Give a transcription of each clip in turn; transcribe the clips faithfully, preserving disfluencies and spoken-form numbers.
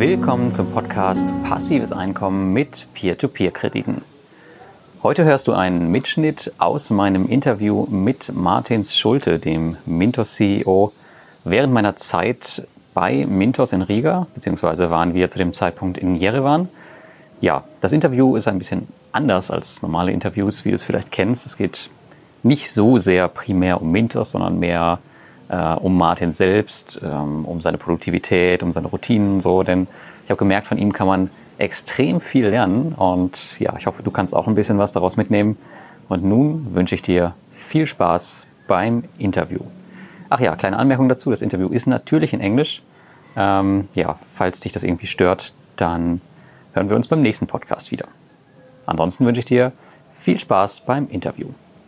Willkommen zum Podcast Passives Einkommen mit Peer-to-Peer-Krediten. Heute hörst du einen Mitschnitt aus meinem Interview mit Martin Schulte, dem Mintos C E O, während meiner Zeit bei Mintos in Riga, beziehungsweise waren wir zu dem Zeitpunkt in Jerewan. Ja, das Interview ist ein bisschen anders als normale Interviews, wie du es vielleicht kennst. Es geht nicht so sehr primär um Mintos, sondern mehr äh, um Martin selbst, ähm, um seine Produktivität, um seine Routinen so. Denn ich habe gemerkt, von ihm kann man extrem viel lernen und ja, ich hoffe, du kannst auch ein bisschen was daraus mitnehmen. Und nun wünsche ich dir viel Spaß beim Interview. Ach ja, kleine Anmerkung dazu, das Interview ist natürlich in Englisch. Ähm, ja, falls dich das irgendwie stört, dann hören wir uns beim nächsten Podcast wieder. Ansonsten wünsche ich dir viel Spaß beim Interview.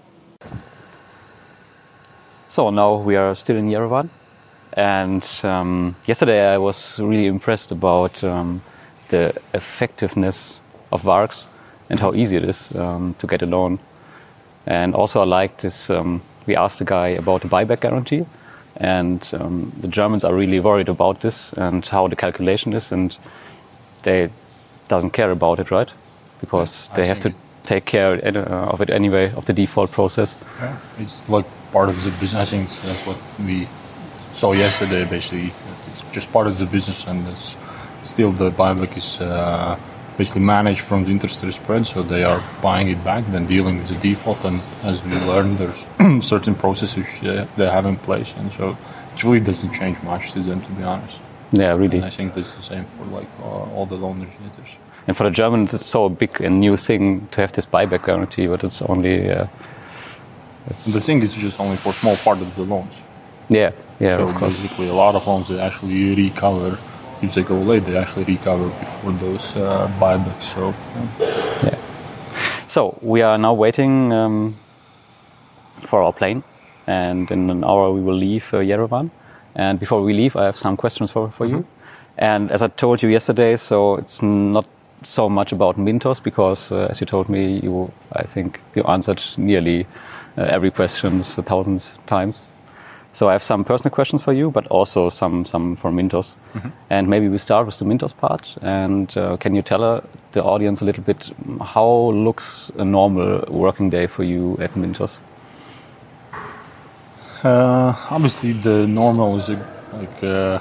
So now we are still in Yerevan, and um, yesterday I was really impressed about um, the effectiveness of Vargs and how easy it is um, to get a loan. And also I liked this, um, we asked the guy about the buyback guarantee, and um, the Germans are really worried about this and how the calculation is, and they doesn't care about it, right? Because yeah, they have to it. take care of it anyway, of the default process. Yeah, it's like part of the business. I think that's what we saw yesterday, basically. It's just part of the business, and it's still the buyback is uh, basically managed from the interest rate spread, so they are buying it back, then dealing with the default, and as we learned, there's certain processes they have in place, and so it really doesn't change much to them, to be honest. Yeah, really. And I think that's the same for like uh, all the loan originators. And for the Germans, it's so big and new thing to have this buyback guarantee, but it's only. Uh, it's the thing is just only for a small part of the loans. Yeah, yeah. So of course. basically, a lot of loans they actually recover. If they go late, they actually recover before those uh, buybacks. So. Yeah. yeah. So we are now waiting um, for our plane, and in an hour we will leave uh, Yerevan. And before we leave, I have some questions for for mm-hmm. you. And as I told you yesterday, so it's not so much about Mintos because, uh, as you told me, you I think you answered nearly uh, every question a thousand times. So I have some personal questions for you, but also some some for Mintos. Mm-hmm. And maybe we start with the Mintos part. And uh, can you tell uh, the audience a little bit how looks a normal working day for you at Mintos? Uh, obviously, the normal is a, like. Uh,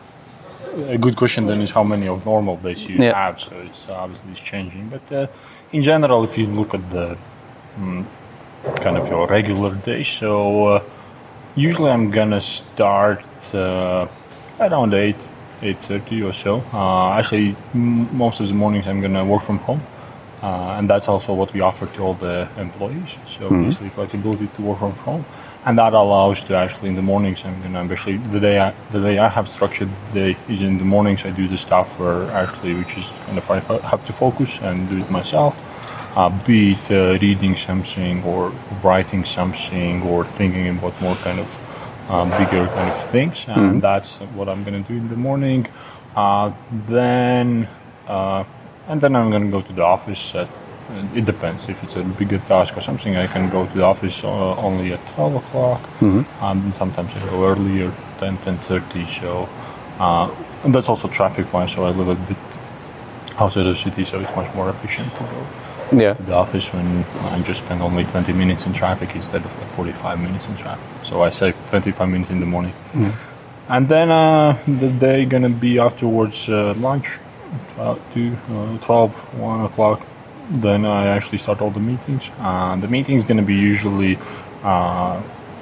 A good question then is how many of normal days you yeah. have, so it's obviously it's changing. But uh, in general, if you look at the um, kind of your regular day, so uh, usually I'm gonna start uh, around eight, eight thirty or so. Uh, actually, m- most of the mornings I'm gonna work from home, uh, and that's also what we offer to all the employees. So mm-hmm. basically, flexibility to work from home. And that allows to actually in the mornings, I'm gonna actually the day I, the way I have structured the day is in the mornings I do the stuff where actually which is kind of I have to focus and do it myself, uh, be it uh, reading something or writing something or thinking about more kind of um, bigger kind of things, and mm-hmm. that's what I'm gonna do in the morning. Uh, then uh, and then I'm gonna go to the office at. It depends. If it's a bigger task or something, I can go to the office uh, only at twelve o'clock. Mm-hmm. Um, sometimes I go earlier, ten, ten thirty. So, uh, and that's also traffic-wise. So I live a bit outside of the city, so it's much more efficient to go yeah. to the office when I just spend only twenty minutes in traffic instead of like forty-five minutes in traffic. So I save twenty-five minutes in the morning. Mm-hmm. And then uh, the day gonna be afterwards uh, lunch, uh, two, uh, twelve, one o'clock. Then I actually start all the meetings. Uh, the meeting is going to be usually uh,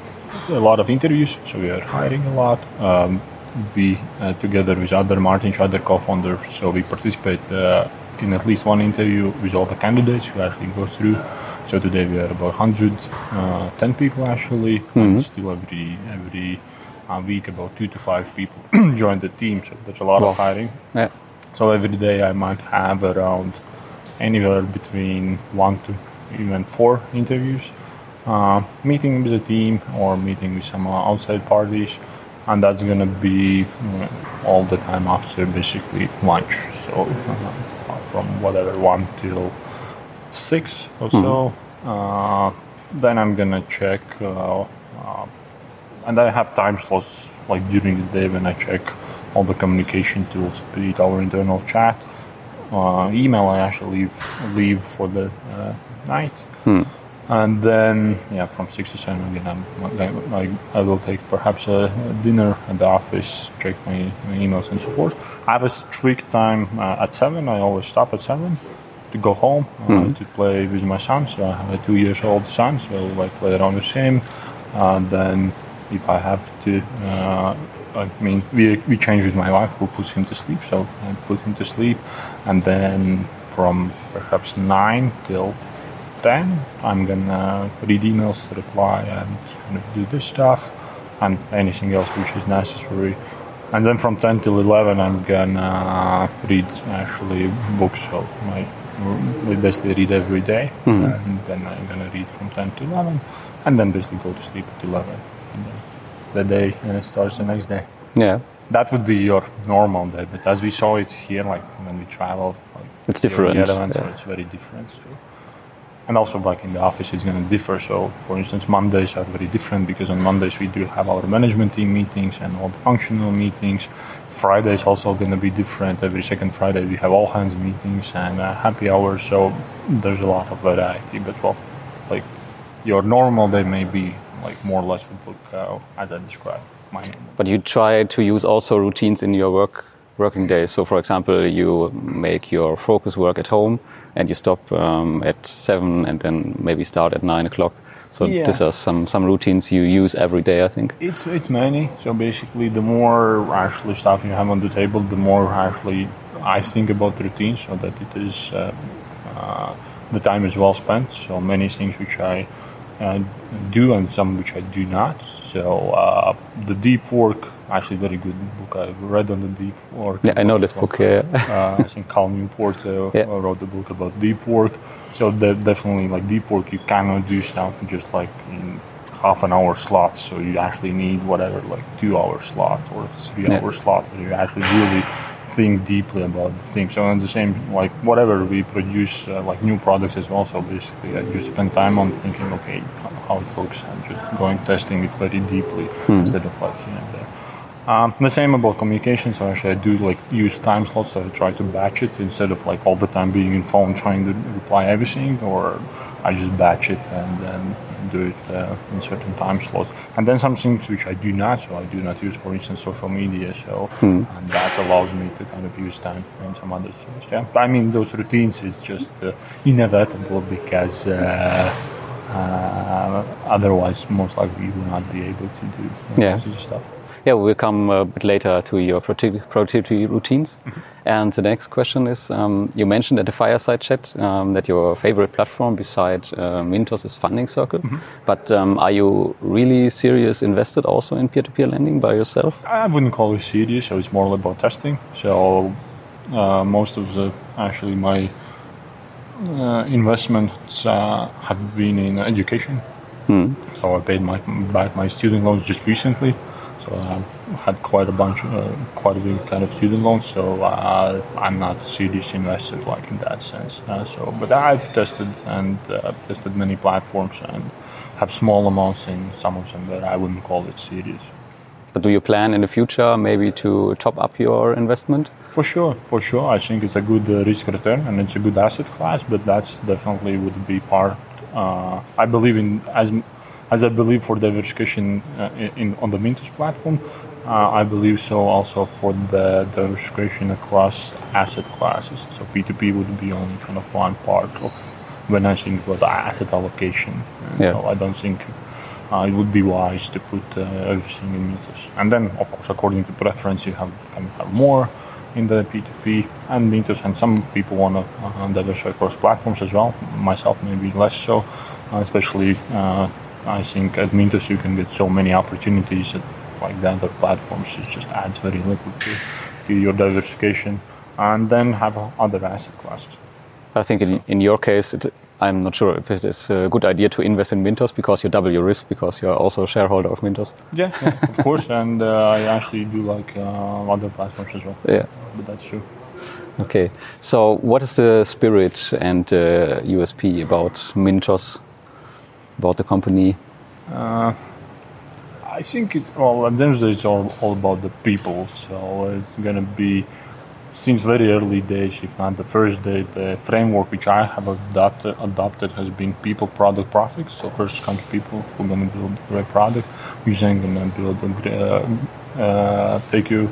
a lot of interviews, so we are hiring a lot. Um, we, uh, together with other Martin, other co-founders, so we participate uh, in at least one interview with all the candidates who actually go through. So today we are about one hundred ten people actually, mm-hmm. and still every every uh, week about two to five people join the team, so that's a lot wow. of hiring. Yeah. So every day I might have around anywhere between one to even four interviews, uh, meeting with the team or meeting with some outside parties, and that's going to be uh, all the time after basically lunch. So uh, from whatever one till six or mm-hmm. so. Uh, then I'm going to check, uh, uh, and I have time slots like during the day when I check all the communication tools, be it our internal chat, uh, email. I actually leave, leave for the uh, night. Hmm. And then, yeah, from six to seven again, I'm, I, I will take perhaps a, a dinner at the office, check my, my emails and so forth. I have a strict time uh, at seven. I always stop at seven to go home uh, mm-hmm. to play with my son. So I have a two years old son, so I play around with him. Uh, then, if I have to, uh, I mean, we we change with my wife who puts him to sleep. So I put him to sleep, and then from perhaps nine till ten, I'm gonna read emails, reply, and kind of do this stuff, and anything else which is necessary. And then from ten till eleven, I'm gonna read actually books. So my we basically read every day, mm-hmm. and then I'm gonna read from ten to eleven, and then basically go to sleep at eleven. And then the day uh, starts the next day. Yeah. That would be your normal day, but as we saw it here, like when we travel, like it's different. Yerevan, yeah. So it's very different. So. And also back in the office, it's going to differ. So, for instance, Mondays are very different because on Mondays we do have our management team meetings and all the functional meetings. Friday is also going to be different. Every second Friday we have all hands meetings and uh, happy hours. So there's a lot of variety. But well, like your normal day may be like more or less would look uh, as I described. My normal. But you try to use also routines in your work working days. So, for example, you make your focus work at home and you stop um, at seven and then maybe start at nine o'clock. So yeah. These are some, some routines you use every day, I think. It's it's many. So basically, the more actually stuff you have on the table, the more actually I think about routines, so that it is uh, uh, the time is well spent. So many things which I uh, do and some which I do not. So uh, the deep work. Actually, very good book. I read on the deep work. Yeah, I know this book. Yeah. uh, I think Cal Newport uh, yeah. wrote the book about deep work. So that definitely, like deep work, you cannot do stuff just like in half an hour slots. So you actually need whatever, like two hour slot or three yeah. hour slot, where you actually really think deeply about the thing. So in the same, like whatever we produce, uh, like new products as well. So basically, I just spend time on thinking, okay, how it looks, and just going testing it very deeply hmm. instead of like you know. Um, the same about communication, so actually I do like use time slots, so I try to batch it instead of like all the time being in phone trying to reply everything, or I just batch it and then do it uh, in certain time slots. And then some things which I do not, so I do not use, for instance, social media, so hmm. and that allows me to kind of use time in some other things. Yeah, but I mean those routines is just uh, inevitable because uh, uh, otherwise most likely you will not be able to do uh, yeah. this stuff. Yeah, we'll come a bit later to your productivity routines. Mm-hmm. And the next question is, um, you mentioned at the Fireside Chat um, that your favorite platform beside uh, Mintos is Funding Circle. Mm-hmm. But um, are you really serious invested also in peer-to-peer lending by yourself? I wouldn't call it serious, so it's more about testing. So uh, most of the, actually my uh, investments uh, have been in education. Mm. So I paid my, back my student loans just recently. So I had quite a bunch, uh, quite a big kind of student loans. So uh, I'm not a serious investor, like in that sense. Uh, so, but I've tested and uh, tested many platforms and have small amounts in some of them, but I wouldn't call it serious. But do you plan in the future maybe to top up your investment? For sure, for sure. I think it's a good uh, risk return and it's a good asset class. But that's definitely would be part. Uh, I believe in as. As I believe for diversification uh, in, on the Mintos platform, uh, I believe so also for the diversification across asset classes. So P two P would be only kind of one part of when I think about asset allocation. Yeah. So I don't think uh, it would be wise to put uh, everything in Mintos. And then, of course, according to preference, you have can have more in the P two P and Mintos, and some people want to uh, diversify across platforms as well. Myself, maybe less so, uh, especially. Uh, I think at Mintos you can get so many opportunities that, like the other platforms, it just adds very little to, to your diversification, and then have other asset classes. I think in, in your case, it, I'm not sure if it is a good idea to invest in Mintos because you double your risk because you're also a shareholder of Mintos. Yeah, yeah of course, and uh, I actually do like uh, other platforms as well. Yeah, but that's true. Okay, so what is the spirit and uh, U S P about Mintos? About the company? Uh, I think it's, well, at the end of the day, it's all, all about the people. So it's going to be, since very early days, if not the first day, the framework which I have adopted, adopted has been people, product, profit. So first come people who are going to build a great product, who's then going to build a great, uh, uh, take you,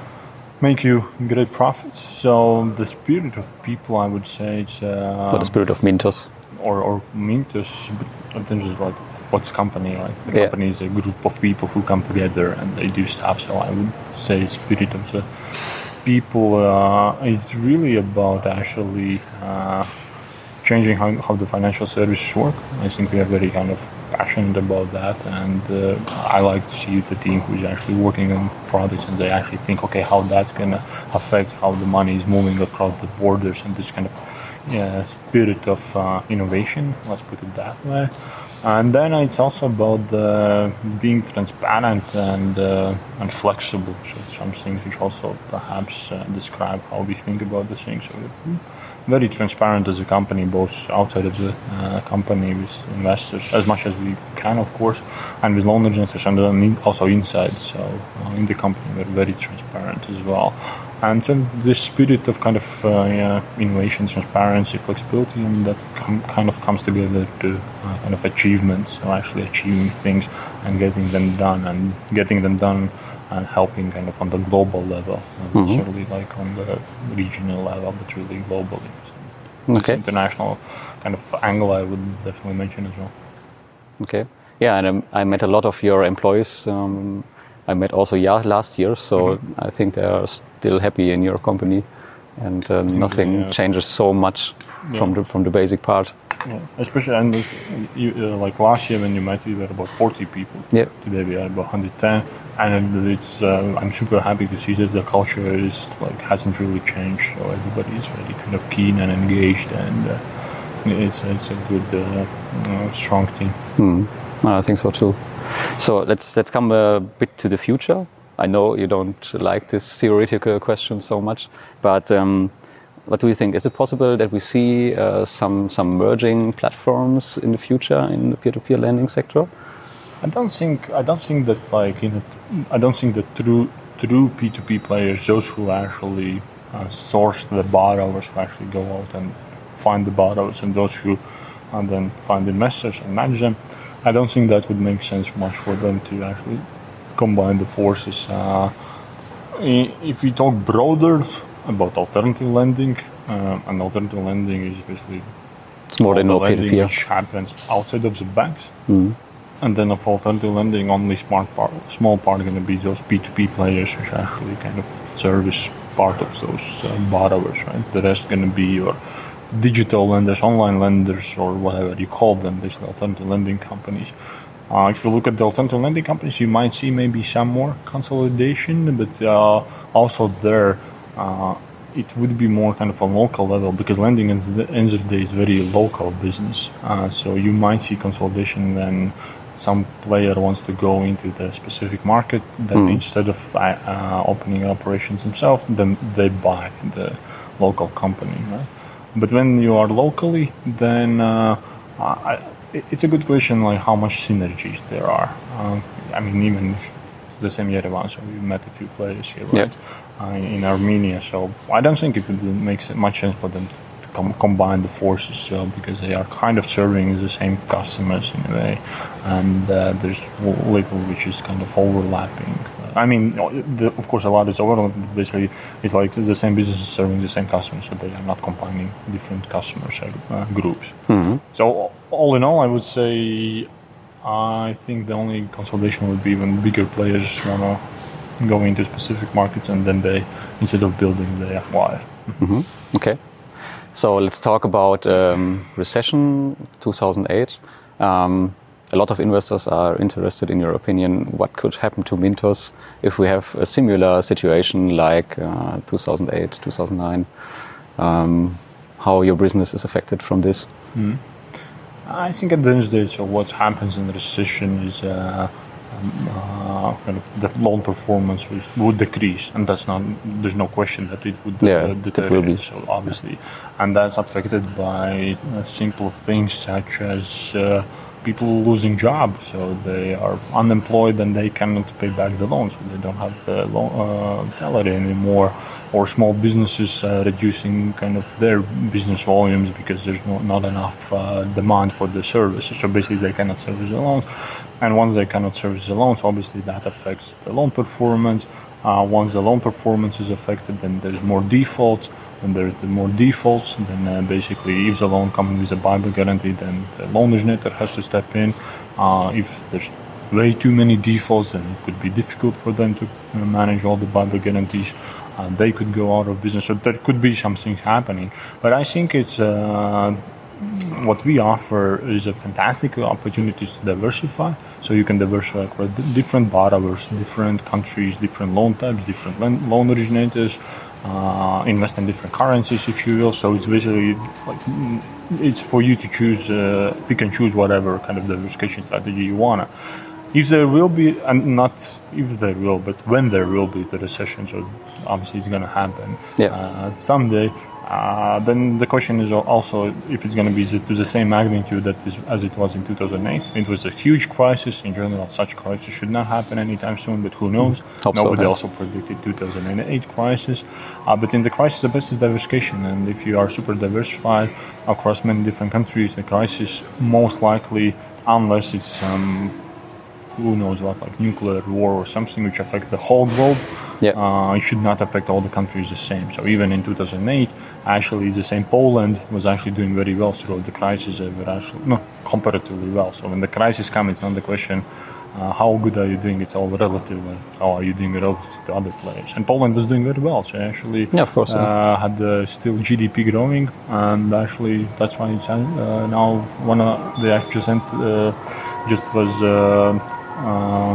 make you great profits. So the spirit of people, I would say, it's... Uh, or the spirit of Mintos. Or, or Mintos, in terms of like, what's company, right? The yeah. company is a group of people who come together and they do stuff. So I would say spirit of the people uh, is really about actually uh, changing how, how the financial services work. I think we are very kind of passionate about that, and uh, I like to see the team who's actually working on products and they actually think, okay, how that's going to affect how the money is moving across the borders, and this kind of yeah, spirit of uh, innovation, let's put it that way. And then it's also about uh, being transparent and uh, and flexible. So some things which also perhaps uh, describe how we think about the things. So we're very transparent as a company, both outside of the uh, company with investors, as much as we can, of course, and with loan originators, and then also inside. So uh, in the company, we're very transparent as well. And so this spirit of kind of uh, yeah, innovation, transparency, flexibility, and that com- kind of comes together to uh, kind of achievements, so actually achieving things and getting them done, and getting them done and helping kind of on the global level, not mm-hmm. necessarily like on the regional level, but really globally. So okay. This international kind of angle I would definitely mention as well. Okay. Yeah, and um, I met a lot of your employees. Um, I met also yeah, last year, so mm-hmm. I think they are still happy in your company, and uh, nothing yeah. changes so much yeah. from the from the basic part. Yeah, especially and you, uh, like last year when you met, we were about forty people. Yeah. Today we are about one hundred ten, and it's uh, I'm super happy to see that the culture is like hasn't really changed. So everybody is very kind of keen and engaged, and uh, it's it's a good uh, uh, strong team. Mm. I think so too. So let's let's come a bit to the future. I know you don't like this theoretical question so much, but um, what do you think? Is it possible that we see uh, some some merging platforms in the future in the peer-to-peer lending sector? I don't think I don't think that like you know I don't think that true true P two P players, those who actually uh, source the borrowers, who actually go out and find the borrowers, and those who and then find investors and manage them. I don't think that would make sense much for them to actually combine the forces. Uh, if we talk broader about alternative lending, uh, and alternative lending is basically it's more than no lending peer-to-peer. Which happens outside of the banks. Mm. And then of alternative lending, only smart part, small part are going to be those P two P players, which actually kind of service part of those uh, borrowers, right? The rest going to be your digital lenders, online lenders, or whatever you call them, basically alternative lending companies. Uh, if you look at the alternative lending companies, you might see maybe some more consolidation, but uh, also there, uh, it would be more kind of a local level, because lending at the end of the day is very local business. Uh, so you might see consolidation when some player wants to go into the specific market, then mm. instead of uh, opening operations themselves, then they buy the local company, right? But when you are locally, then uh, I, it's a good question, like how much synergies there are. Uh, I mean, even the same Yerevan, so we met a few players here, right? Yeah. Uh, in Armenia, so I don't think it would make much sense for them to com- combine the forces, uh, because they are kind of serving the same customers in a way, and uh, there's little which is kind of overlapping. I mean, the, of course, a lot is overlapping. Basically, it's like the same business is serving the same customers, so they are not combining different customer uh, groups. Mm-hmm. So, all in all, I would say I think the only consolidation would be when bigger players want to go into specific markets, and then they, instead of building, they acquire. Mm-hmm. Okay. So let's talk about um, recession two thousand eight. Um, A lot of investors are interested in your opinion. What could happen to Mintos if we have a similar situation like uh, two thousand eight, two thousand nine? Um, how your business is affected from this? Mm. I think at the end of the day, so what happens in the recession is uh, um, uh, kind of the loan performance would, would decrease, and that's not. There's no question that it would yeah, uh, deteriorate. So obviously, and that's affected by uh, simple things such as. Uh, people losing jobs, so they are unemployed and they cannot pay back the loans. So they don't have the loan, uh, salary anymore, or small businesses uh, reducing kind of their business volumes because there's no, not enough uh, demand for the services. So basically, they cannot service the loans, and once they cannot service the loans, obviously that affects the loan performance. Uh, once the loan performance is affected, then there's more defaults. When there's more defaults, then uh, basically if the loan comes with a buyback guarantee, then the loan originator has to step in. Uh, if there's way too many defaults, then it could be difficult for them to uh, manage all the buyback guarantees. Uh, they could go out of business, so there could be some things happening. But I think it's uh, what we offer is a fantastic opportunity to diversify. So you can diversify across different borrowers, different countries, different loan types, different loan originators. Uh, invest in different currencies, if you will. So it's basically like it's for you to choose. Uh, pick and choose whatever kind of diversification strategy you wanna. If there will be, and not if there will, but when there will be the recession, so obviously it's gonna happen yeah. uh, someday. Uh, then the question is also if it's going to be to the same magnitude that is, as it was in two thousand eight. It was a huge crisis. In general, such crisis should not happen anytime soon, but who knows? Hope Nobody so, yeah. also predicted two thousand eight crisis. Uh, but in the crisis, the best is diversification. And if you are super diversified across many different countries, the crisis most likely, unless it's um, who knows what, like nuclear war or something which affects the whole globe, yeah. uh, it should not affect all the countries the same. So even in two thousand eight, actually the same Poland was actually doing very well throughout the crisis. They were actually, no, comparatively well. So when the crisis comes, it's not the question uh, how good are you doing, it's all relative. Like how are you doing relative to other players? And Poland was doing very well. So actually yeah, of course, uh, yeah. had uh, still G D P growing, and actually that's why it's uh, now one of the just uh, just was uh, uh,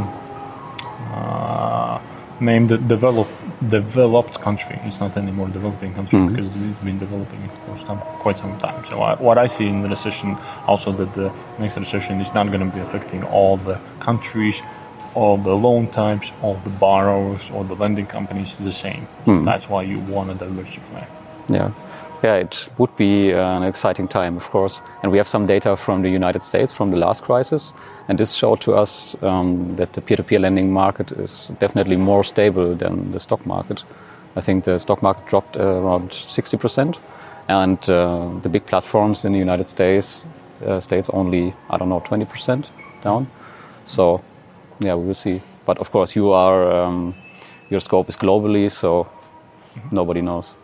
uh, named the developed developed country. It's not anymore developing country mm-hmm. because it's been developing for some quite some time. So I, what I see in the recession also that the next recession is not going to be affecting all the countries, all the loan types, all the borrowers, all the lending companies the same. So mm-hmm. that's why you want to diversify. Yeah. Yeah, it would be an exciting time, of course. And we have some data from the United States from the last crisis. And this showed to us um, that the peer-to-peer lending market is definitely more stable than the stock market. I think the stock market dropped uh, around sixty percent. And uh, the big platforms in the United States, uh, states only, I don't know, twenty percent down. So, yeah, we will see. But of course, you are, um, your scope is globally, so nobody knows.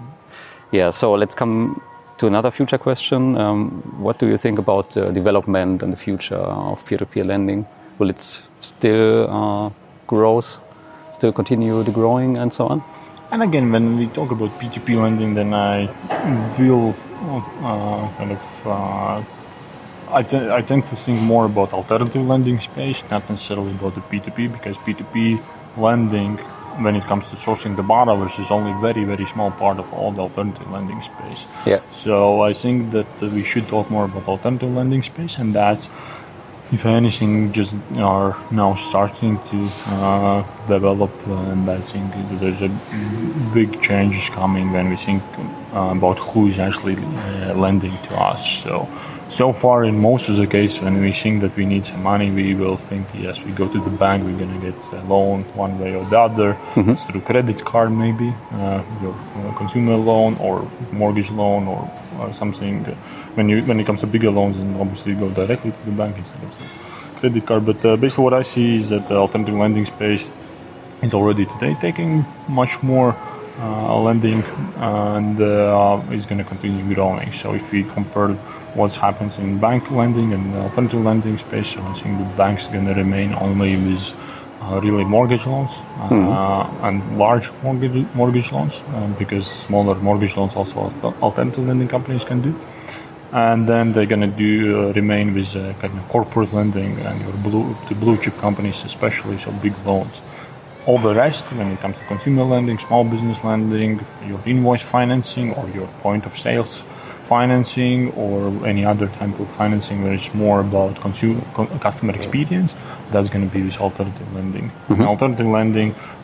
Yeah, so let's come to another future question. Um, what do you think about the development and the future of peer-to-peer lending? Will it still uh, grow, still continue the growing and so on? And again, when we talk about P two P lending, then I will uh, kind of, uh, I, t- I tend to think more about alternative lending space, not necessarily about the P two P, because P two P lending, when it comes to sourcing the borrowers, is only very, very small part of all the alternative lending space. Yeah. So I think that uh, we should talk more about alternative lending space, and that's, if anything, just are now starting to uh, develop, uh, and I think there's a big changes coming when we think uh, about who is actually uh, lending to us. So. So far, in most of the cases, when we think that we need some money, we will think, yes, we go to the bank, we're going to get a loan one way or the other, mm-hmm. through credit card maybe, uh, your uh, consumer loan or mortgage loan or, or something. When you when it comes to bigger loans, then obviously you go directly to the bank instead of the credit card. But uh, basically what I see is that the alternative lending space is already today taking much more uh, lending and uh, is going to continue growing. So if we compare what happens in bank lending and alternative lending space, so I think the bank's going to remain only with uh, really mortgage loans uh, mm-hmm. and large mortgage mortgage loans, uh, because smaller mortgage loans also alternative lending companies can do. And then they're going to do uh, remain with uh, kind of corporate lending and your blue to blue chip companies, especially, so big loans. All the rest, when it comes to consumer lending, small business lending, your invoice financing or your point of sales financing or any other type of financing where it's more about consumer, customer experience, that's going to be with alternative lending. Mm-hmm. And alternative lending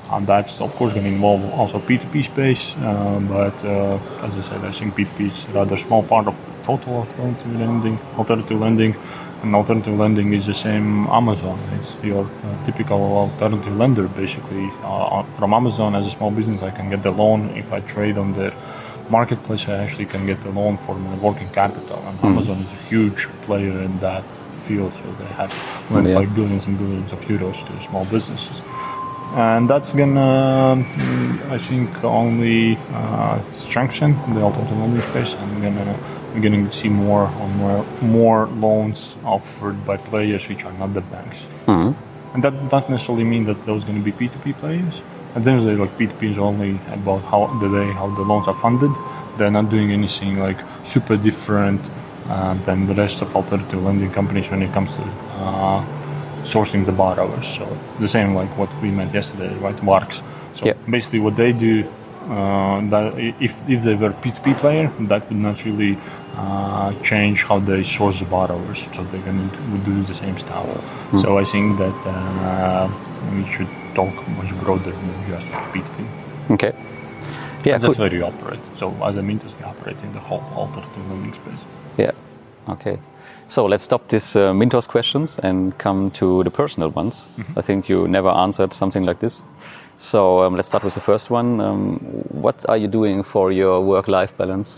and that's of course going to involve also P two P space. Uh, but uh, as I said, I think P two P is a rather small part of total alternative lending. Alternative lending, and alternative lending is the same Amazon. It's your uh, typical alternative lender, basically. Uh, from Amazon, as a small business, I can get the loan. If I trade on their marketplace, I actually can get the loan for my working capital. And mm. Amazon is a huge player in that field, so they have lent yeah. like billions and billions of euros to small businesses. And that's gonna, I think, only uh, strengthen the alternative lending space. I'm gonna, we're gonna see more on more, more loans offered by players which are not the banks. Mm-hmm. And that doesn't necessarily mean that those are going to be P two P players. At the end of the day, like P two P is only about how the way how the loans are funded. They're not doing anything like super different uh, than the rest of alternative lending companies when it comes to uh, sourcing the borrowers. So the same like what we met yesterday, right? Varks. So yeah. basically, what they do, uh, that if if they were P two P player, that would not really uh, change how they source the borrowers. So they're going to do the same stuff. Mm. So I think that uh, we should talk much broader than just P two P. Okay. Yeah, and that's where you operate. So as a Mintos, we operate in the whole alternative lending space. Yeah. Okay. So let's stop these uh, Mintos questions and come to the personal ones. Mm-hmm. I think you never answered something like this. So um, let's start with the first one. Um, what are you doing for your work-life balance?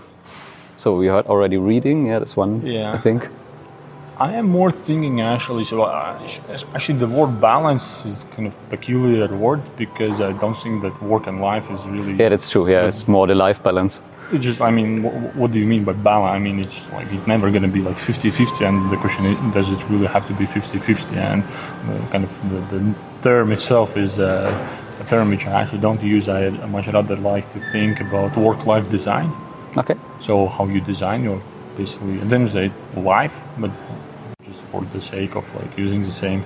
So we heard already reading. Yeah, that's one. Yeah. I think. I am more thinking actually. So uh, actually, the word balance is kind of a peculiar word because I don't think that work and life is really. Yeah, that's true. Yeah, it's more the life balance. It just, I mean, what, what do you mean by balance? I mean, it's like it's never going to be like fifty-fifty, and the question is, does it really have to be fifty-fifty? And the, kind of the, the term itself is uh, a term which I actually don't use. I much rather like to think about work-life design. Okay. So how you design your basically, and then say life, but just for the sake of like using the same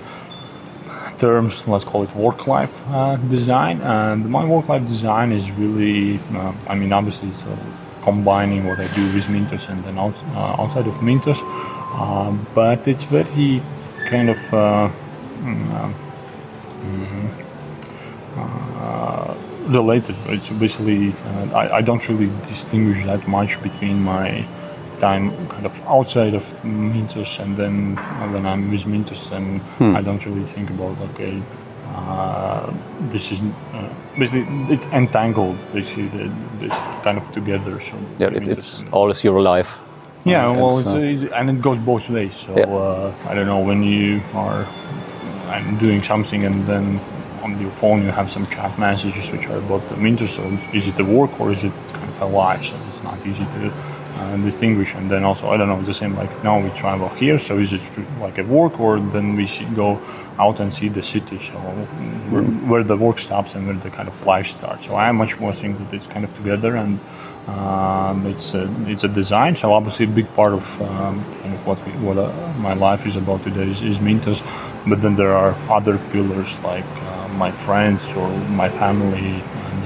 terms, let's call it work-life uh, design. And my work-life design is really, uh, I mean, obviously it's uh, combining what I do with Mintos and then out, uh, outside of Mintos, uh, but it's very kind of uh, mm, uh, related. It's basically, uh, I, I don't really distinguish that much between my time kind of outside of Mintos and then when I'm with Mintos, and hmm. I don't really think about okay, uh, this is uh, basically it's entangled basically the, this kind of together. So yeah, it's, it's always your life. Yeah, uh, well, it's, uh, it's, and it goes both ways. So yeah. uh, I don't know, when you are I'm doing something and then on your phone you have some chat messages which are about the Mintos. So is it a work or is it kind of a life? So it's not easy to Uh, distinguish. And then also, I don't know, it's the same like now we travel here, so is it like a work or then we see, go out and see the city, so mm-hmm. where, where the work stops and where the kind of life starts. So I much more think that it's kind of together, and um, it's a, it's a design. So obviously a big part of um, kind of what we, what uh, my life is about today is, is Mintos, but then there are other pillars like uh, my friends or my family,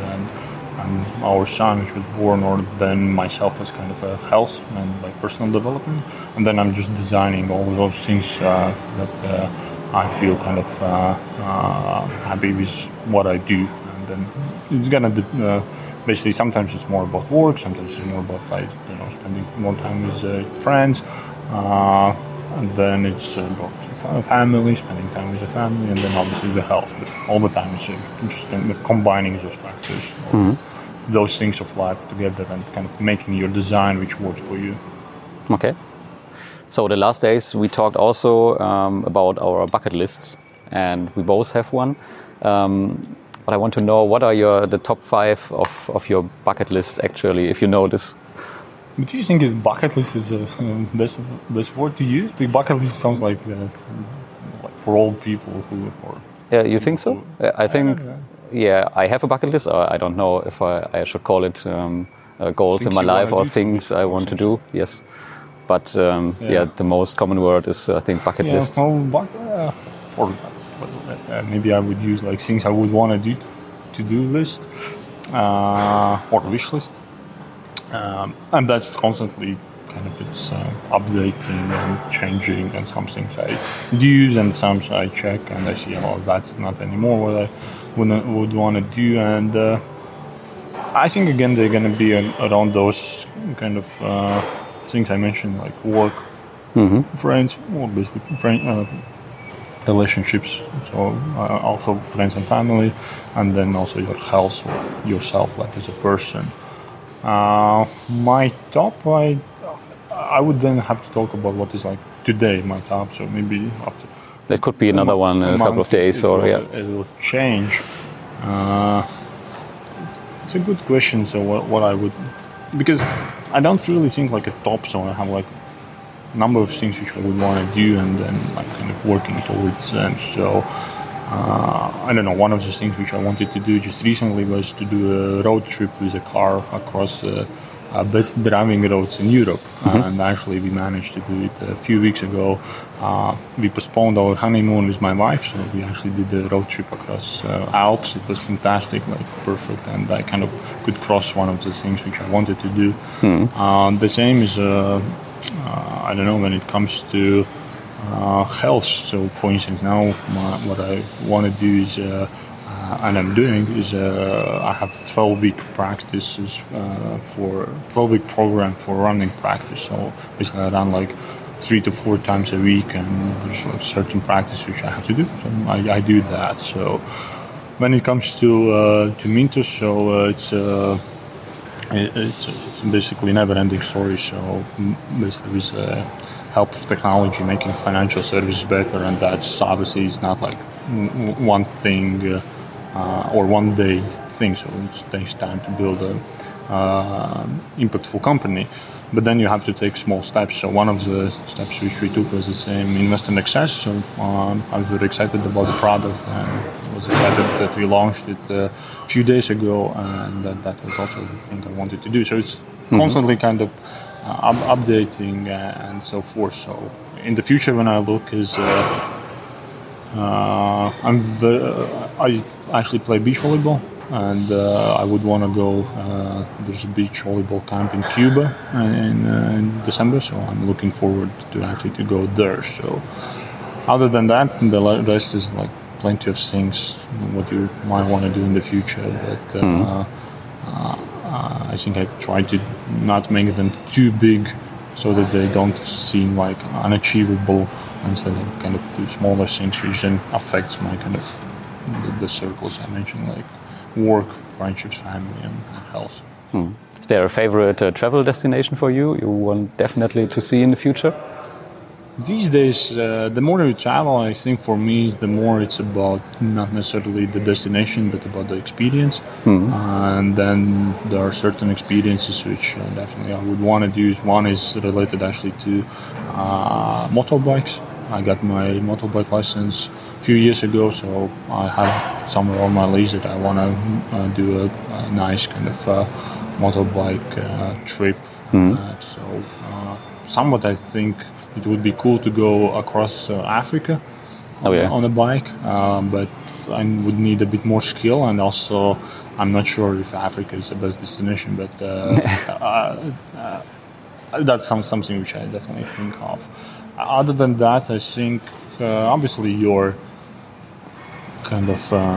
our son, which was born, or then myself as kind of a health and like personal development, and then I'm just designing all those things uh, that uh, I feel kind of uh, uh, happy with what I do. And then it's gonna uh, basically sometimes it's more about work, sometimes it's more about like you know spending more time with uh, friends, uh, and then it's about family, spending time with the family, and then obviously the health. But all the time it's uh, just kind of combining those factors. Mm-hmm. Those things of life together and kind of making your design which works for you. Okay. So the last days we talked also um, about our bucket lists, and we both have one. Um, but I want to know, what are your the top five of, of your bucket list actually, if you know this? But do you think is bucket list is the uh, best best word to use? The bucket list sounds like, uh, like for old people who or. Yeah, you think so? Who, I think. I Yeah, I have a bucket list. Or I don't know if I, I should call it um, uh, goals things in my life or things I want to do. Yes, but um, yeah. yeah, the most common word is I think bucket yeah, list. Well, but, uh, or uh, maybe I would use like things I would want to do, to do list uh, or wish list, um, and that's constantly kind of it's uh, updating and changing. And some things I do use and some I check and I see, oh, that's not anymore what I would would want to do, and uh, I think again they're going to be around those kind of uh, things I mentioned, like work, mm-hmm. friends, or basically friend, uh, relationships. So uh, also friends and family, and then also your health or yourself, like as a person. Uh, my top, I I would then have to talk about what is like today my top. So maybe after that could be another one in a couple of days, it or will, yeah, it will change. Uh, it's a good question. So what, what I would, because I don't really think like a top. So I have like a number of things which I would want to do, and then like kind of working towards them. So. Uh, I don't know, one of the things which I wanted to do just recently was to do a road trip with a car across the uh, best driving roads in Europe. Mm-hmm. And actually we managed to do it a few weeks ago. Uh, we postponed our honeymoon with my wife, so we actually did the road trip across uh, Alps. It was fantastic, like perfect, and I kind of could cross one of the things which I wanted to do. Mm-hmm. Uh, the same is, uh, uh, I don't know, when it comes to Uh, health. So, for instance, now my, what I want to do is, uh, uh, and I'm doing is, uh, I have twelve week practices uh, for twelve week program for running practice. So basically, I run like three to four times a week, and there's like certain practice which I have to do. So I, I do that. So when it comes to uh, to Mintos, so uh, it's. Uh, It's, it's basically a never-ending story. So basically, with uh, help of technology, making financial services better, and that's obviously it's not like one thing uh, uh, or one day thing. So it takes time to build a uh, impactful company. But then you have to take small steps. So one of the steps which we took was the same Invest in Access. So um, I was very excited about the product, and was excited that we launched it uh, a few days ago, and that, that was also the thing I wanted to do. So it's mm-hmm. constantly kind of uh, up- updating uh, and so forth. So in the future, when I look, is uh, uh, I'm the, uh, I actually play beach volleyball. And uh, I would want to go. Uh, there's a beach volleyball camp in Cuba in, uh, in December, so I'm looking forward to actually to go there. So, other than that, the rest is like plenty of things what you might want to do in the future. But uh, mm. uh, I think I try to not make them too big, so that they don't seem like unachievable, instead of kind of do smaller things which then affects my kind of the, the circles I mentioned, like work, friendships, family, and health. Hmm. Is there a favorite uh, travel destination for you you want definitely to see in the future? These days, uh, the more you travel, I think for me, the more it's about not necessarily the destination, but about the experience. Mm-hmm. Uh, and then there are certain experiences which uh, definitely I would want to do. One is related actually to uh, motorbikes. I got my motorbike license a few years ago, so I have somewhere on my list that I want to uh, do a, a nice kind of uh, motorbike uh, trip. Mm-hmm. Uh, so uh, somewhat I think it would be cool to go across uh, Africa oh, yeah. on a bike, uh, but I would need a bit more skill, and also I'm not sure if Africa is the best destination, but uh, uh, uh, that's some, something which I definitely think of. Other than that, I think uh, obviously your kind of, uh,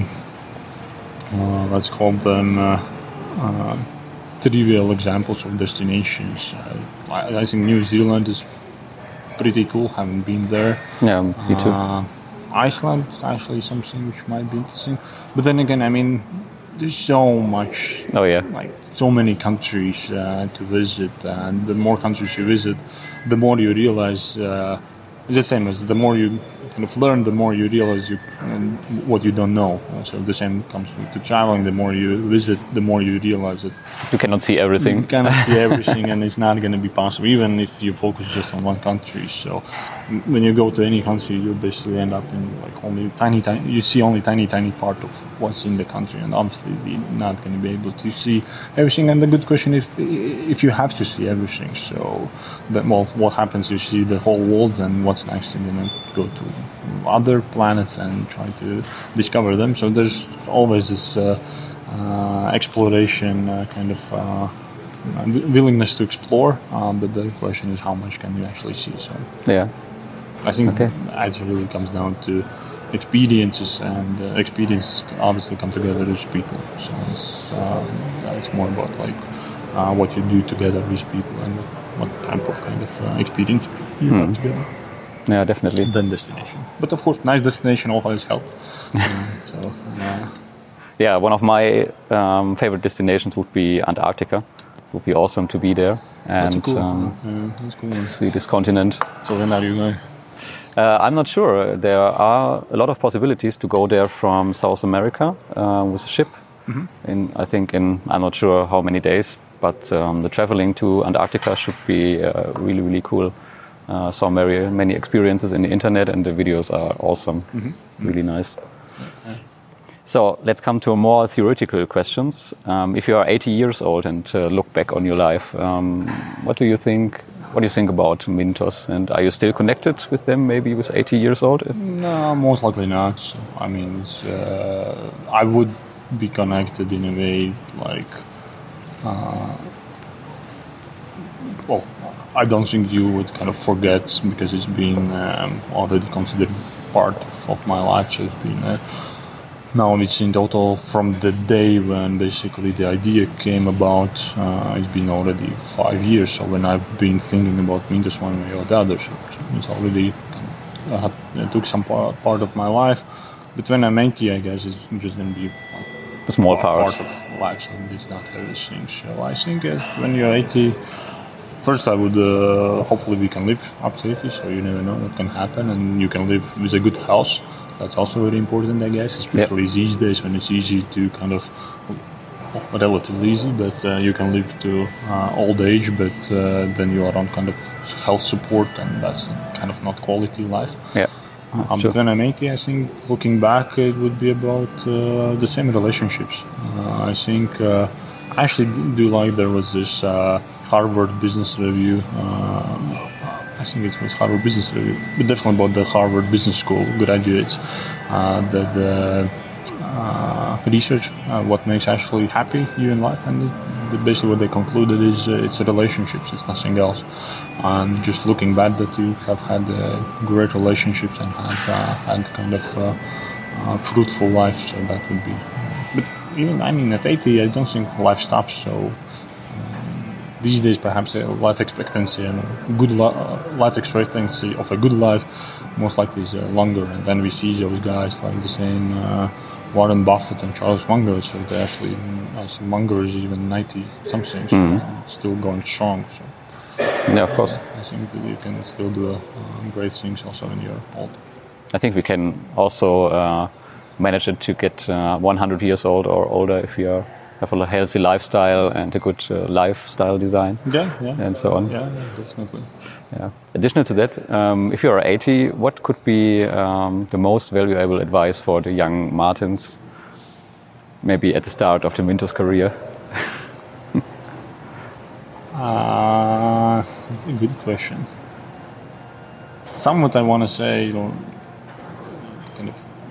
uh, let's call them uh, uh, trivial examples of destinations. Uh, I, I think New Zealand is pretty cool, haven't been there. Yeah, me too. Uh, Iceland is actually something which might be interesting. But then again, I mean, there's so much, oh yeah, like so many countries uh, to visit, and the more countries you visit, the more you realize, uh, it's the same as the more you kind of learn, the more you realize you um, what you don't know. So the same comes to traveling. The more you visit, the more you realize that you cannot see everything. You cannot see everything, and it's not going to be possible, even if you focus just on one country. So when you go to any country, you basically end up in like only tiny, tiny. You see only tiny, tiny part of what's in the country, and obviously you're not going to be able to see everything. And the good question is, if you have to see everything, so that, well, what happens? You see the whole world, and what's next? You're going to go to other planets and try to discover them. So there's always this uh, uh, exploration uh, kind of uh, willingness to explore, um, but the question is how much can you actually see. So yeah, I think okay. it really comes down to experiences, and uh, experience obviously come together with people. So it's, um, it's more about like uh, what you do together with people and what type of kind of uh, experience you Hmm. have together. Yeah, definitely. Than destination. But of course, nice destination always help. um, so uh, Yeah, one of my um, favorite destinations would be Antarctica. It would be awesome to be there and that's cool. um, uh, that's cool. see this continent. So when are you going? Uh, I'm not sure. There are a lot of possibilities to go there from South America uh, with a ship. Mm-hmm. In I think in I'm not sure how many days, but um, the traveling to Antarctica should be uh, really really cool. Uh, saw very many experiences in the internet, and the videos are awesome, Mm-hmm. really nice. So let's come to more theoretical questions. Um, if you are eighty years old and uh, look back on your life, um, what do you think? What do you think about Mintos? And are you still connected with them? Maybe with eighty years old? No, most likely not. So, I mean, it's, uh, I would be connected in a way like, uh, well, I don't think you would kind of forget because it's been um, already considered part of, of my life. So it's been uh, now it's in total from the day when basically the idea came about. Uh, it's been already five years. So when I've been thinking about Mintos one way or the other, so, so it's already kind of, uh, it took some part, part of my life. But when I'm eighty, I guess it's just going to be A small part. part of life. So it's not everything. So I think uh, when you're eighty. First, I would uh, hopefully we can live up to eighty, so you never know what can happen, and you can live with a good health. That's also very important, I guess, especially Yep. these days when it's easy to kind of, well, relatively easy, but uh, you can live to uh, old age, but uh, then you are on kind of health support, and that's kind of not quality life. Yeah, that's Um, true. but when I'm eighty, I think looking back, it would be about uh, the same relationships. Uh, I think uh, I actually do like there was this uh, Harvard Business Review. Uh, I think it was Harvard Business Review, but definitely about the Harvard Business School graduates. Uh, that the uh, research, uh, what makes actually happy you in life, and the, the, basically what they concluded is uh, it's relationships, it's nothing else. And just looking back, that you have had uh, great relationships and have uh, had kind of uh, uh, fruitful life, so that would be. But even I mean, at eighty, I don't think life stops. So um, these days, perhaps uh, life expectancy and good li- uh, life expectancy of a good life most likely is uh, longer. And then we see those guys like the same uh, Warren Buffett and Charles Munger. So they actually, I think Munger is even ninety something, so Mhm. uh, still going strong. So. Yeah, of course. I think that you can still do uh, great things also when you're old. I think we can also uh, manage it to get uh, one hundred years old or older if you are, have a healthy lifestyle and a good uh, lifestyle design Yeah, yeah. and so on. Yeah, yeah, definitely. Yeah. Additional to that, um, if you are eighty, what could be um, the most valuable advice for the young Martins, maybe at the start of the Mintos career? Uh, that's a good question. Somewhat I want to say, you know, kind of,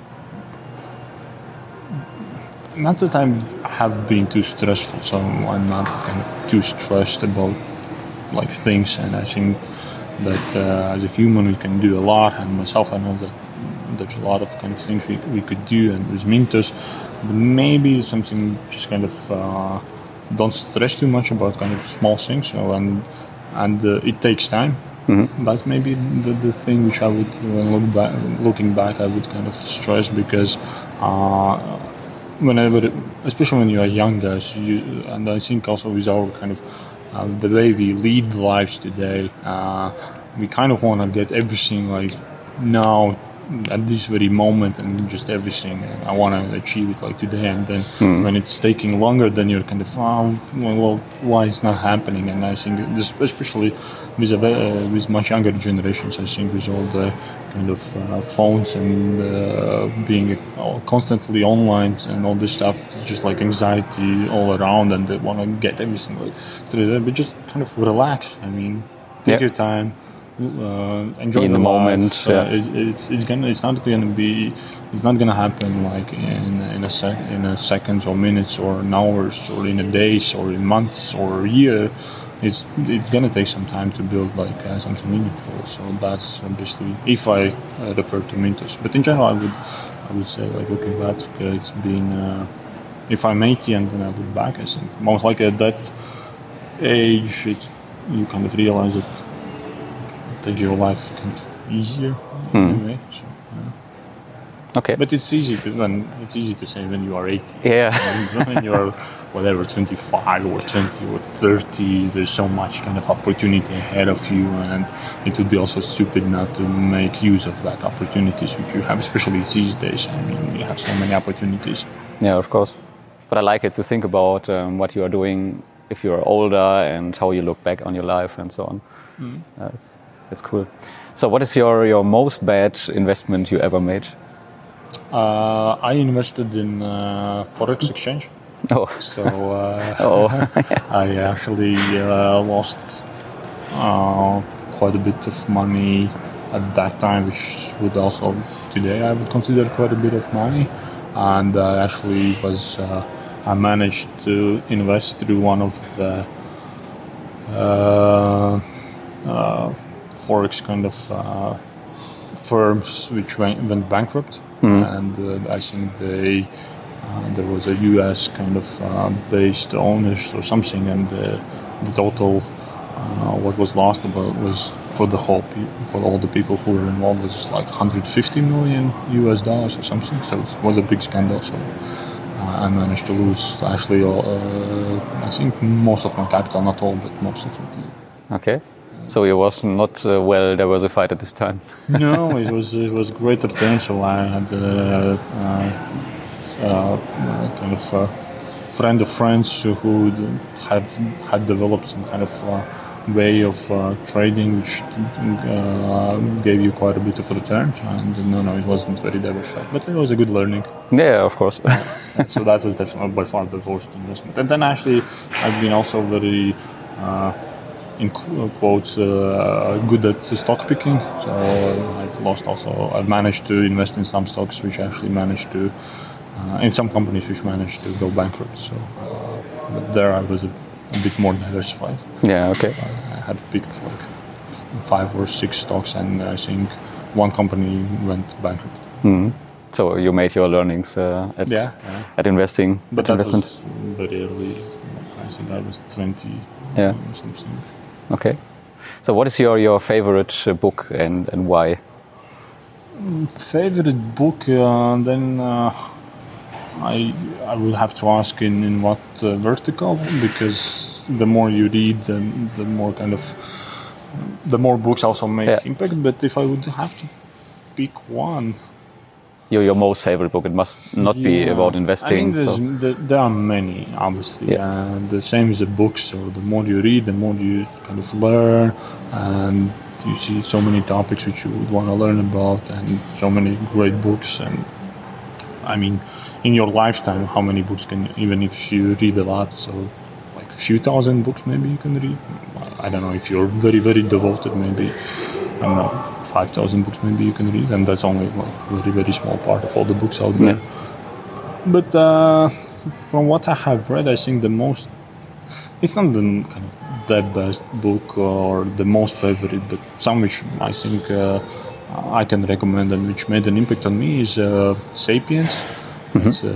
not that I have been too stressful, so I'm not kind of too stressed about like things, and I think that uh, as a human we can do a lot, and myself I know that there's a lot of kind of things we, we could do, and with Mintos, but maybe something just kind of uh, don't stress too much about kind of small things, so, and and uh, it takes time. Mm-hmm. That's maybe the, the thing which I would, when look back, looking back, I would kind of stress, because uh, whenever, especially when you are younger, so you, and I think also with our kind of uh, the way we lead lives today, uh, we kind of want to get everything like now at this very moment, and just everything. I want to achieve it like today, and then Mm. when it's taking longer, then you're kind of, oh, well, why it's not happening? And I think this, especially with a, uh, with much younger generations, I think with all the kind of uh, phones and uh, being uh, constantly online and all this stuff, just like anxiety all around, and they want to get everything like through that. But just kind of relax. I mean, take Yeah. your time. Uh, enjoy Be in the, the life. moment, Uh, yeah. it's, it's it's gonna it's not gonna be it's not gonna happen like in in a sec in a seconds or minutes or in hours or in a days or in months or a year. it's it's gonna take some time to build like uh, something meaningful. So that's basically if I uh, refer to Mintos. But in general, I would I would say like looking back, uh, it's been uh, if I'm eighty and then I look back, I think most likely at that age it, you kind of realize that take your life kind of easier Hmm. in a way. So, yeah. Okay. But it's easy to when it's easy to say when you are eighty. Yeah. And when you're whatever twenty-five or twenty or thirty, there's so much kind of opportunity ahead of you, and it would be also stupid not to make use of that opportunities which you have, especially these days. I mean, you have so many opportunities. Yeah, of course. But I like it to think about um, what you are doing if you're older and how you look back on your life and so on. Mm. Uh, it's, it's cool. So what is your, your most bad investment you ever made? Uh, I invested in uh, Forex exchange. Oh. So uh, Oh. I actually uh, lost uh, quite a bit of money at that time, which would also today I would consider quite a bit of money. And I actually was uh, I managed to invest through one of the uh, uh, Forex kind of uh, firms which went, went bankrupt. Mm. And uh, I think they uh, there was a U S kind of uh, based owners or something, and uh, the total uh, what was lost about was for the whole pe- for all the people who were involved was like one hundred fifty million U S dollars or something. So it was a big scandal. So uh, I managed to lose actually uh, I think most of my capital, not all, but most of it. Okay. So it was not uh, well diversified at this time. No, it was it was great return. So I had uh, uh, uh, kind of a friend of friends who had had developed some kind of uh, way of uh, trading which uh, gave you quite a bit of return. And no, no, it wasn't very diversified, but it was a good learning. Yeah, of course. So that was definitely by far the worst investment. And then actually, I've been also very. Uh, in quotes, uh, good at stock picking. So I've lost also, I've managed to invest in some stocks which actually managed to, uh, in some companies which managed to go bankrupt. So uh, but there I was a, a bit more diversified. Yeah, okay. So I had picked like five or six stocks, and I think one company went bankrupt. Mm. So you made your learnings uh, at, yeah, yeah. at investing. But at that investment. was very early. I think I was twenty yeah. or something. Okay. So what is your, your favorite uh, book and, and why? Favorite book, uh, then uh, I I would have to ask in, in what uh, vertical, because the more you read, the, the more kind of, the more books also make yeah. impact. But if I would have to pick one, Your, your most favorite book. It must not yeah. be about investing. I mean, so. there, there are many, obviously. Yeah. Uh, the same as a book. So the more you read, the more you kind of learn, and you see so many topics which you would want to learn about, and so many great books. And I mean, in your lifetime, how many books can, even if you read a lot, so like a few thousand books maybe you can read. I don't know, if you're very, very devoted, maybe, I don't know, five thousand books maybe you can read, and that's only like a very, very small part of all the books out there. Yeah. But uh, from what I have read, I think the most, it's not the kind of the best book or the most favorite, but some which I think uh, I can recommend and which made an impact on me is uh, Sapiens. Mm-hmm. It's a,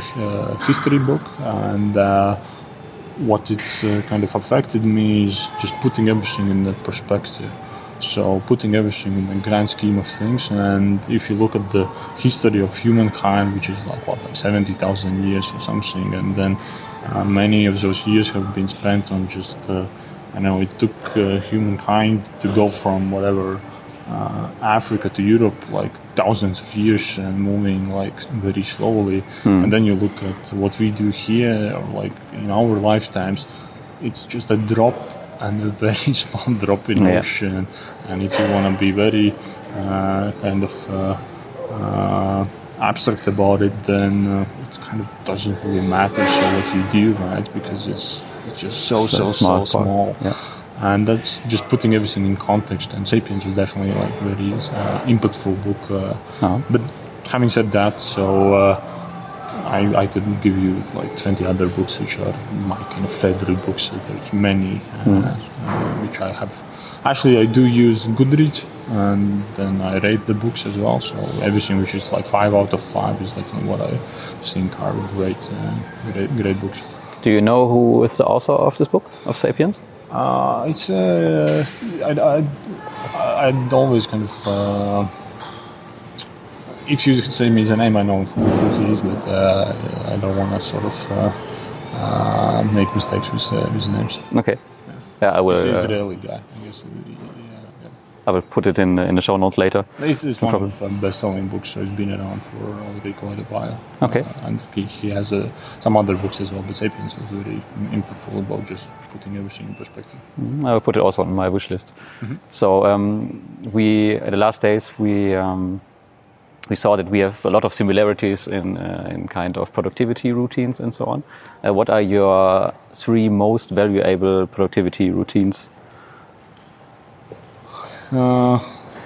a history book, and uh, what it's uh, kind of affected me is just putting everything in that perspective. So putting everything in the grand scheme of things, and if you look at the history of humankind, which is like what, like seventy thousand years or something, and then uh, many of those years have been spent on just, uh, I know it took uh, humankind to go from whatever uh, Africa to Europe, like thousands of years, and moving like very slowly. Mm. And then you look at what we do here, or like in our lifetimes, it's just a drop. And a very small drop in the yeah. ocean, and if you want to be very uh, kind of uh, uh, abstract about it, then uh, it kind of doesn't really matter so what you do, right? Because it's, it's just so so so small, so small. Yeah. And that's just putting everything in context. And Sapiens is definitely like very uh, impactful book. Uh, uh-huh. But having said that, so uh, I, I could give you like twenty other books which are my kind of favorite books. There's many uh, Mm. uh, which I have. Actually, I do use Goodreads, and then I rate the books as well. So everything which is like five out of five is definitely what I think are great, uh, great, great books. Do you know who is the author of this book, of *Sapiens*? Uh, it's uh, I'd, I'd, I'd always kind of uh, if you say me the name, I know who he is, but uh, I don't want to sort of uh, uh, make mistakes with uh, with names. Okay. Yeah, I will. He's an Uh, Israeli guy, I guess. Yeah, yeah. I will put it in in the show notes later. It's, it's No one problem. of the best-selling books, so it's been around for already quite a while. Okay. Uh, and he, he has uh, some other books as well, but *Sapiens* is very impactful about just putting everything in perspective. I will put it also on my wish list. So um, we, at the last days, we um, we saw that we have a lot of similarities in uh, in kind of productivity routines and so on. Uh, what are your three most valuable productivity routines? Uh,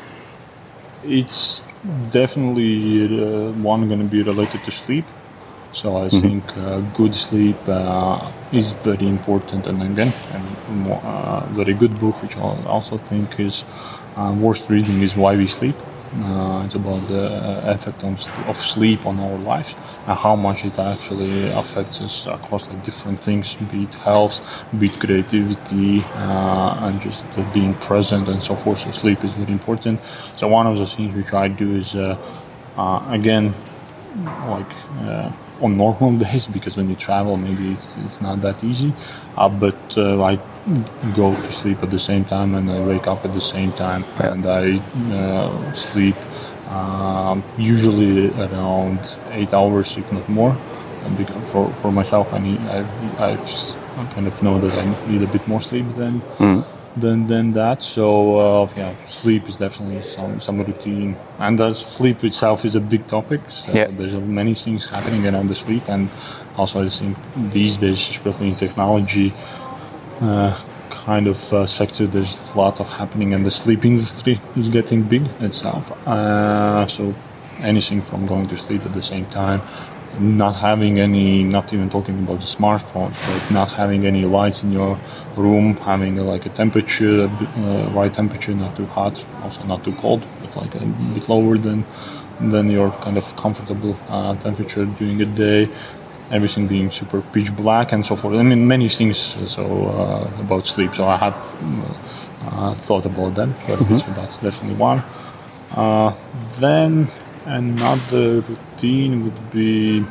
it's definitely uh, one going to be related to sleep. So I think uh, good sleep uh, is very important. And again, a uh, very good book, which I also think is uh, worth reading, is Why We Sleep. Uh, it's about the effect on, of sleep on our lives and how much it actually affects us across like different things, be it health, be it creativity, uh, and just uh, being present and so forth. So sleep is very important. So one of the things which I do is, uh, uh, again, like uh, on normal days, because when you travel maybe it's, it's not that easy, uh, but uh, I go to sleep at the same time and I wake up at the same time, Yeah. and I uh, sleep um, usually around eight hours, if not more. And because for, for myself, I need I, I just kind of know that I need a bit more sleep than Mm. than than that. So uh, yeah, sleep is definitely some some routine, and uh, sleep itself is a big topic. So Yeah. there's many things happening around the sleep, and also I think these days, especially in technology uh, kind of uh, sector, there's a lot of happening, and the sleep industry is getting big itself. Uh, so anything from going to sleep at the same time, not having any, not even talking about the smartphones, but not having any lights in your room, having uh, like a temperature, uh, right temperature, not too hot, also not too cold, but like a bit lower than than your kind of comfortable uh, temperature during the day. Everything being super pitch black and so forth. I mean, many things uh, so uh, about sleep. So I have uh, thought about that, but so that's definitely one. Uh, then another routine would be,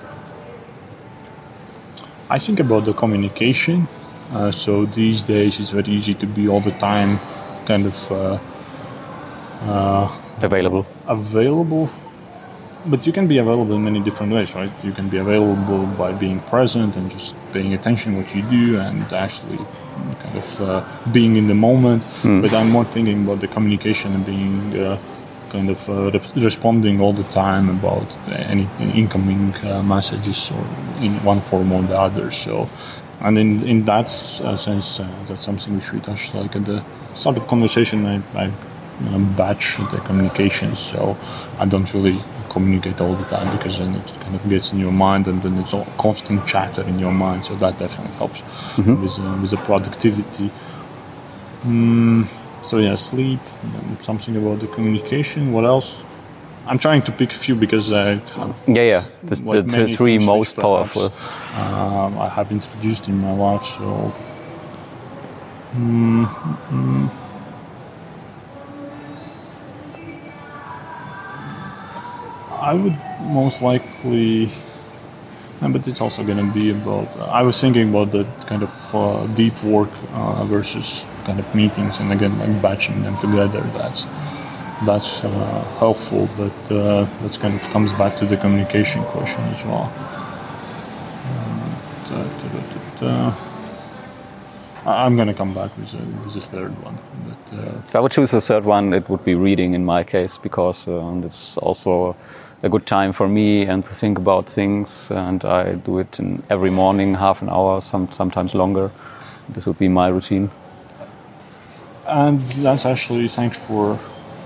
I think about the communication. Uh, so these days it's very easy to be all the time kind of uh, uh, Available. available, but you can be available in many different ways, right? You can be available by being present and just paying attention what you do and actually kind of uh, being in the moment. But I'm more thinking about the communication and being uh, kind of uh, re- responding all the time about any incoming uh, messages or in one form or the other. So, and in in that uh, sense, uh, that's something which we touched like at the start of conversation. I, I you know, batch the communications, so I don't really communicate all the time, because then it kind of gets in your mind and then it's all constant chatter in your mind. So that definitely helps with uh, with the productivity. Mm, so yeah, sleep. Then something about the communication. What else? I'm trying to pick a few because I have Yeah, yeah. The, like the many three things most which perhaps, powerful. um, I have introduced in my life. So. Mm, mm, I would most likely, uh, but it's also going to be about. Uh, I was thinking about the kind of uh, deep work uh, versus kind of meetings, and again, like batching them together. That's that's uh, helpful, but uh, that kind of comes back to the communication question as well. Um, da, da, da, da, da. I- I'm going to come back with a, with a third one, but. Uh, If I would choose a third one, it would be reading in my case, because um, it's also a good time for me and to think about things, and I do it in every morning, half an hour, some sometimes longer. This would be my routine. And that's actually, thanks for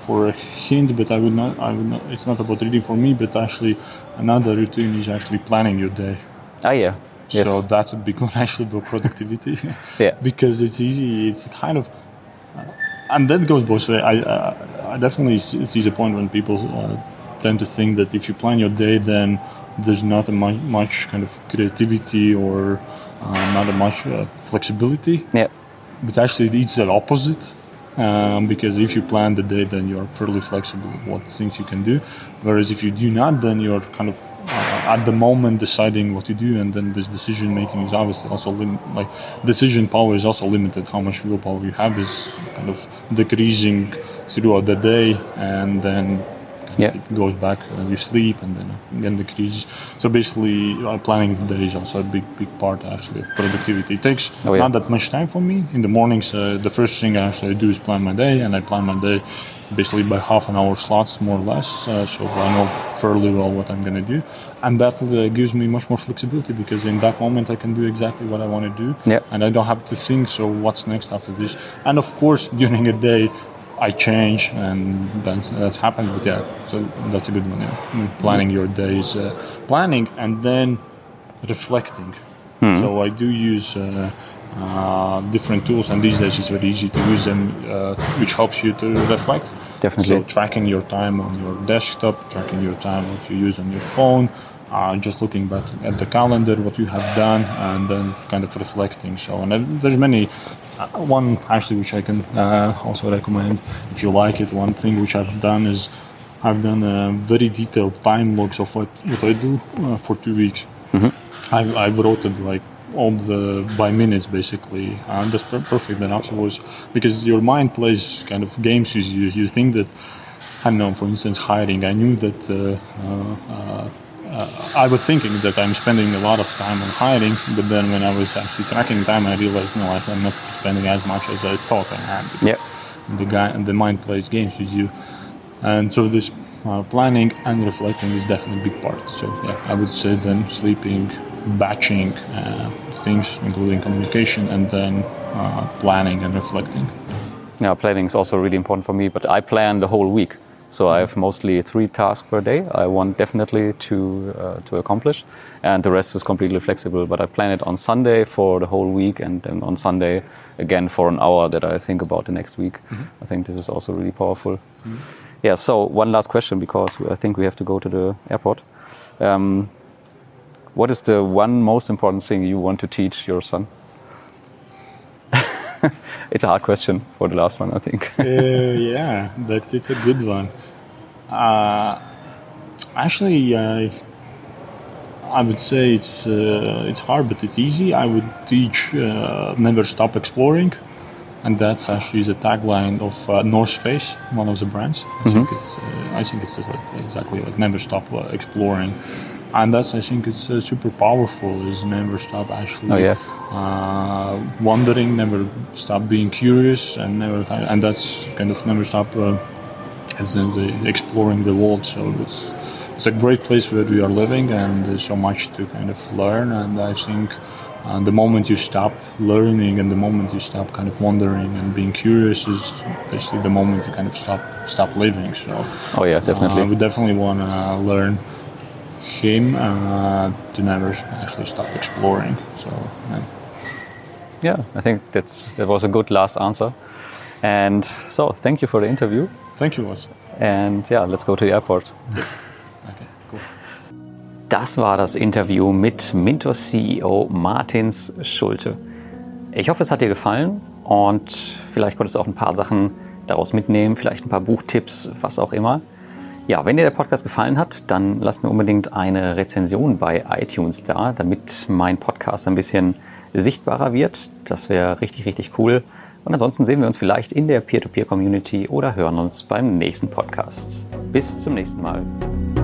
for a hint, but I would not. I would not. It's not about reading for me, but actually, another routine is actually planning your day. Ah, yeah. Yes. So that's a big one actually about productivity. Yeah. Because it's easy. It's kind of, uh, and that goes both ways. I, I I definitely see the point when people uh, tend to think that if you plan your day, then there's not a much, much kind of creativity or uh, not a much uh, flexibility. Yeah. But actually, it's the opposite. Um, because if you plan the day, then you're fairly flexible with what things you can do. Whereas if you do not, then you're kind of uh, at the moment deciding what to do, and then this decision making is obviously also lim- like decision power is also limited. How much willpower you have is kind of decreasing throughout the day, and then yeah. it goes back when you sleep, and then again decreases. So basically, uh, planning the day is also a big, big part actually of productivity. It takes oh, yeah. not that much time for me. In the mornings, uh, the first thing I actually do is plan my day, and I plan my day basically by half an hour slots, more or less. Uh, so I know fairly well what I'm going to do, and that uh, gives me much more flexibility because in that moment I can do exactly what I want to do, yeah. and I don't have to think. So what's next after this? And of course, during a day, I change, and that's, that's happened. But yeah, so that's a good one. Yeah. Planning your days, uh, planning, and then reflecting. Hmm. So I do use uh, uh, different tools, and these days it's very easy to use them, uh, which helps you to reflect. Definitely. So tracking your time on your desktop, tracking your time what you use on your phone, uh, just looking back at the calendar, what you have done, and then kind of reflecting. So and there's many. Uh, one actually which I can uh, also recommend if you like it. One thing which I've done is I've done a very detailed time logs of what, what I do uh, for two weeks. Mm-hmm. I've, I've wrote it like all the by minutes basically, and that's perfect. And afterwards, because your mind plays kind of games with you, you think that I don't know. For instance, hiring. I knew that. Uh, uh, uh, Uh, I was thinking that I'm spending a lot of time on hiring, but then when I was actually tracking time, I realized no, I'm not spending as much as I thought I had. Yeah. The guy, the mind plays games with you, and so this uh, planning and reflecting is definitely a big part. So yeah, I would say then sleeping, batching uh, things, including communication, and then uh, planning and reflecting. Yeah, planning is also really important for me, but I plan the whole week. So I have mostly three tasks per day I want definitely to uh, to accomplish, and the rest is completely flexible. But I plan it on Sunday for the whole week, and then on Sunday again for an hour that I think about the next week. Mm-hmm. I think this is also really powerful. Mm-hmm. Yeah, so one last question, because I think we have to go to the airport. Um, what is the one most important thing you want to teach your son? It's a hard question for the last one, I think. uh, yeah, but it's a good one. Uh, actually, uh, I would say it's uh, it's hard, but it's easy. I would teach uh, never stop exploring, and that's actually the tagline of uh, North Face, one of the brands. I mm-hmm. think it's uh, I think it's just like, exactly like never stop uh, exploring. And that's, I think, it's uh, super powerful. Is never stop actually oh, yeah. uh, wondering, never stop being curious, and never, and that's kind of never stop uh, as in the exploring the world. So it's it's a great place where we are living, and there's so much to kind of learn. And I think uh, the moment you stop learning, and the moment you stop kind of wondering and being curious, is basically the moment you kind of stop stop living. So oh yeah, definitely. Uh, we definitely want to learn him uh, to never actually stop exploring. So yeah. yeah, I think that's that was a good last answer. And so thank you for the interview. Thank you, Watson. And yeah, let's go to the airport. Okay, cool. Das war das Interview mit Mintos C E O Martins Schulte. Ich hoffe, es hat dir gefallen und vielleicht konntest du auch ein paar Sachen daraus mitnehmen, vielleicht ein paar Buchtipps, was auch immer. Ja, wenn dir der Podcast gefallen hat, dann lass mir unbedingt eine Rezension bei iTunes da, damit mein Podcast ein bisschen sichtbarer wird. Das wäre richtig, richtig cool. Und ansonsten sehen wir uns vielleicht in der Peer-to-Peer-Community oder hören uns beim nächsten Podcast. Bis zum nächsten Mal.